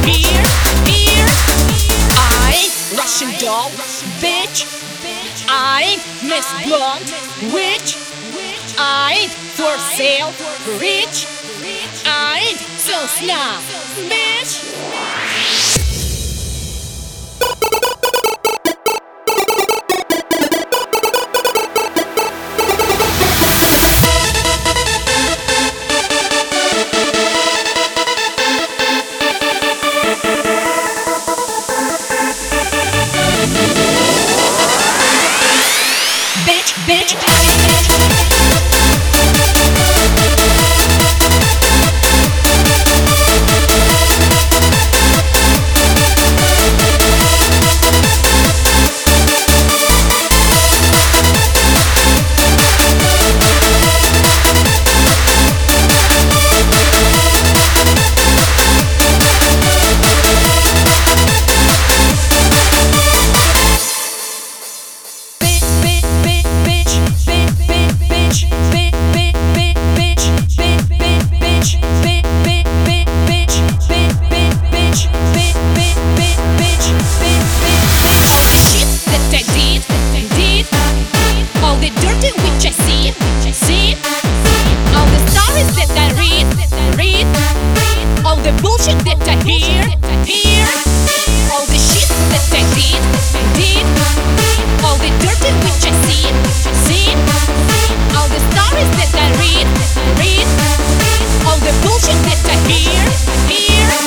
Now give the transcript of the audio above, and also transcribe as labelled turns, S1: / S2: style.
S1: hear. I ain't Russian doll, bitch. I ain't Miss Blonde, witch. I ain't for sale, rich. I ain't so snob, bitch. Bitch. Bullshit that I hear. All the shit that I did. All the dirty which I see. All the stories that I read. All the bullshit that I hear.